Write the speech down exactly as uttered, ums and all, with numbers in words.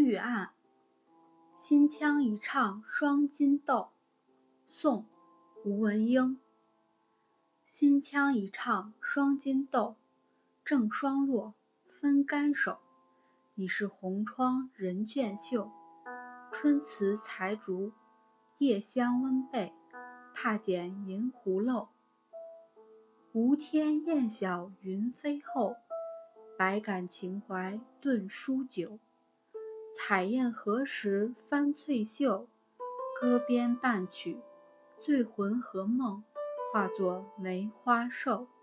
玉案》，新腔一唱双金豆。宋·吴文英。新腔一唱双金豆，正双落，分竿手。已是红窗人倦袖，春辞才竹，夜香温被，怕剪银狐漏。无天雁晓云飞后，百感情怀顿书久。采燕何时翻翠袖，歌边半曲，醉魂和梦化作梅花瘦。